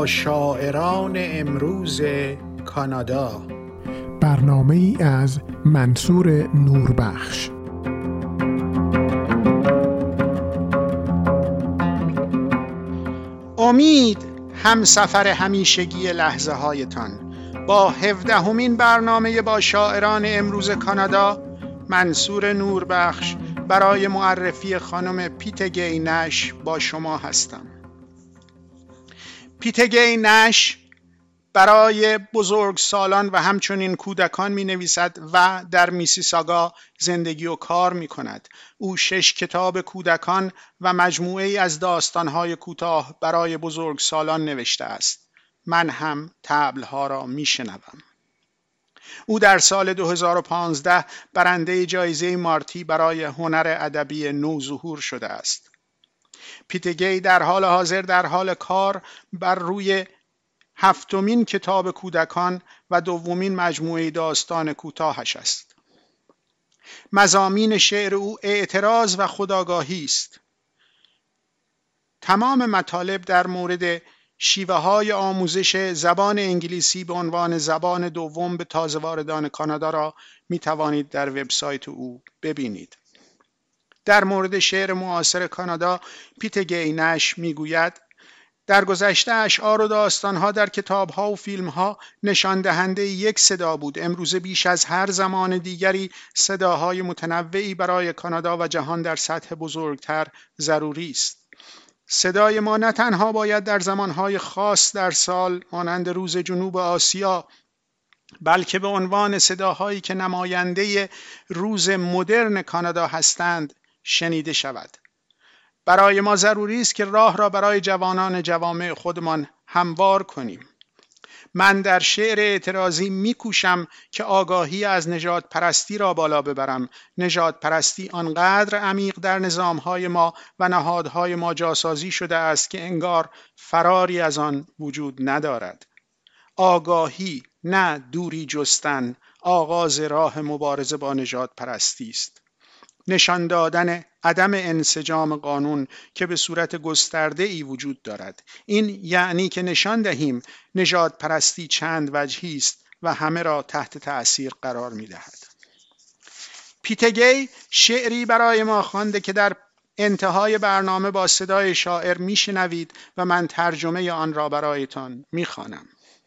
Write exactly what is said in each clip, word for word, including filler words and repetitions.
شاعران امروز کانادا، برنامه ای از منصور نوربخش. امید همسفر همیشگی لحظه هایتان. با هفدهمین برنامه با شاعران امروز کانادا، منصور نوربخش برای معرفی خانم پیتگی نش با شما هستم. پیتگی نش برای بزرگسالان و همچنین کودکان می نویسد و در میسیساگا زندگی و کار می کند. او شش کتاب کودکان و مجموعه ای از داستانهای کوتاه برای بزرگسالان نوشته است. من هم طبلها را می شنوم. او در سال دو هزار و پانزده برنده جایزه مارتی برای هنر ادبی نوظهور شده است. پیتگی در حال حاضر در حال کار بر روی هفتمین کتاب کودکان و دومین مجموعه داستان کوتاهش است. مضامین شعر او اعتراض و خودآگاهی است. تمام مطالب در مورد شیوه های آموزش زبان انگلیسی به عنوان زبان دوم به تازه واردان کانادا را می توانید در وبسایت او ببینید. در مورد شعر معاصر کانادا، پیتگی نش می گوید: در گذشته اشعار و داستانها در کتابها و فیلمها نشان دهنده یک صدا بود. امروزه بیش از هر زمان دیگری صداهای متنوعی برای کانادا و جهان در سطح بزرگتر ضروری است. صدای ما نه تنها باید در زمانهای خاص در سال مانند روز جنوب آسیا، بلکه به عنوان صداهایی که نماینده روز مدرن کانادا هستند شنیده شود. برای ما ضروری است که راه را برای جوانان جوامع خودمان هموار کنیم. من در شعر اعتراضی می‌کوشم که آگاهی از نژاد پرستی را بالا ببرم. نژاد پرستی آنقدر عمیق در نظام‌های ما و نهادهای ما جاسازی شده است که انگار فراری از آن وجود ندارد. آگاهی، نه دوری جستن، آغاز راه مبارزه با نژاد پرستی است. نشان دادن عدم انسجام قانون که به صورت گسترده ای وجود دارد. این یعنی که نشان دهیم نژاد پرستی چند وجهی است و همه را تحت تأثیر قرار می دهد. پیتگی شعری برای ما خوانده که در انتهای برنامه با صدای شاعر می شنوید و من ترجمه آن را برایتان می خوانم.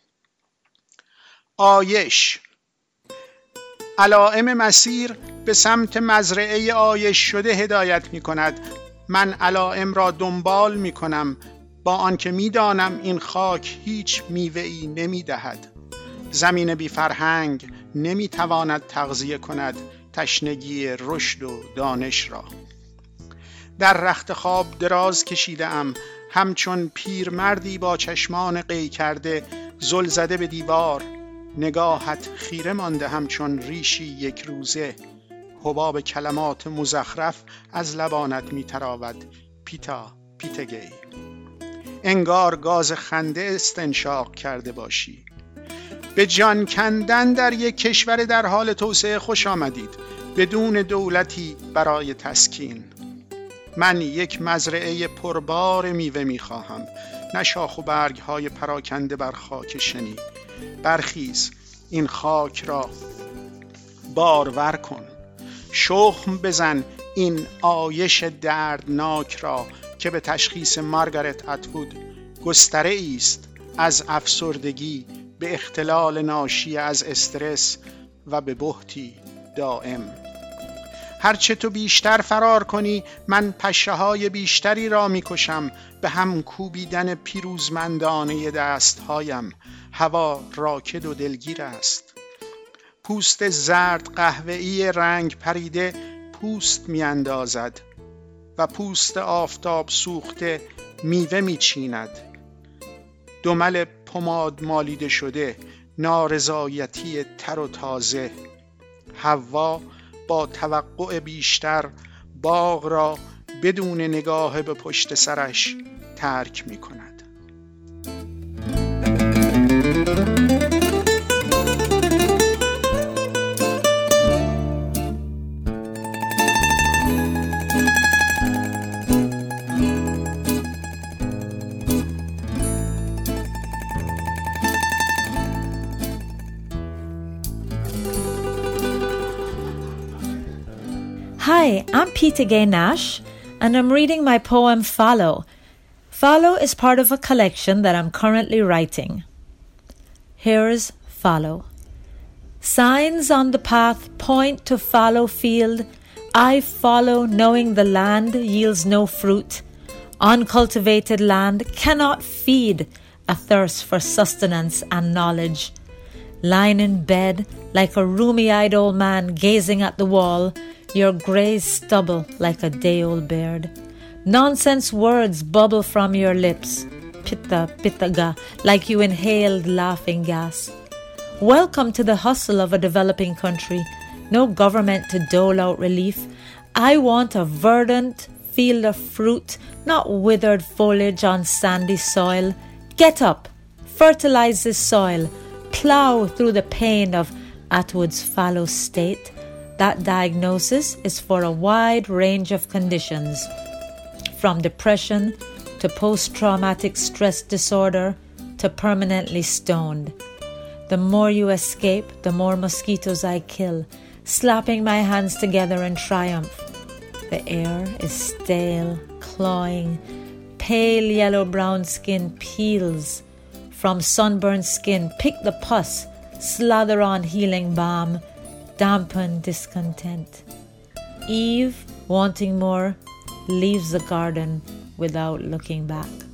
آیش. علائم مسیر به سمت مزرعه آیش شده هدایت می کند. من علائم را دنبال می کنم با آنکه می دانم این خاک هیچ میوه‌ای نمی دهد. زمین بی فرهنگ نمی تواند تغذیه کند تشنگی رشد و دانش را. در رخت خواب دراز کشیده ام، همچون پیرمردی با چشمان قی کرده زل زده به دیوار. نگاهت خیره مانده همچون ریشی یک روزه. حباب کلمات مزخرف از لبانت می تراود. پیتا، پیتگی. انگار گاز خنده استنشاق کرده باشی. به جان کندن در یک کشور در حال توسعه خوش آمدید، بدون دولتی برای تسکین. من یک مزرعه پربار میوه می خواهم، نه شاخ و برگ های پراکنده بر خاک شنی. برخیز، این خاک را بارور کن. شخم بزن این آیش دردناک را که به تشخیص مارگارت اتوود گستره است از افسردگی به اختلال ناشی از استرس و به بهتی دائم. هرچه تو بیشتر فرار کنی، من پشه های بیشتری را می کشم به هم کوبیدن پیروزمندانه دست هایم. هوا راکد و دلگیر است. پوست زرد قهوه‌ای رنگ پریده پوست می اندازد و پوست آفتاب سوخته میوه می چیند. دمل پماد مالیده شده، نارضایتی تر و تازه. هوا با توقع بیشتر باغ را بدون نگاه به پشت سرش ترک می کند. Hi, I'm Peter Gay Nash, and I'm reading my poem Follow. Follow is part of a collection that I'm currently writing. Here's Follow. Signs on the path point to fallow field. I follow, knowing the land yields no fruit. Uncultivated land cannot feed a thirst for sustenance and knowledge. Lying in bed like a roomy-eyed old man gazing at the wall, your grey stubble like a day-old beard. Nonsense words bubble from your lips, pitta pittaga, like you inhaled laughing gas. Welcome to the hustle of a developing country. No government to dole out relief. I want a verdant field of fruit, not withered foliage on sandy soil. Get up, fertilize this soil, plough through the pain of Atwood's fallow state. That diagnosis is for a wide range of conditions, from depression to post-traumatic stress disorder to permanently stoned. The more you escape, the more mosquitoes I kill, slapping my hands together in triumph. The air is stale, clawing, pale yellow-brown skin peels. From sunburned skin, pick the pus, slather on healing balm, dampen discontent. Eve, wanting more, leaves the garden without looking back.